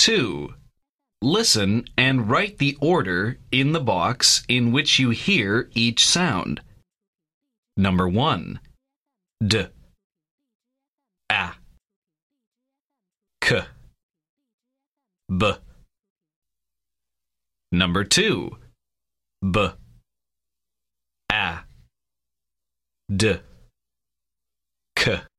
2. Listen and write the order in the box in which you hear each sound. Number 1. D, A, K, B. Number 2. B, A, D, K.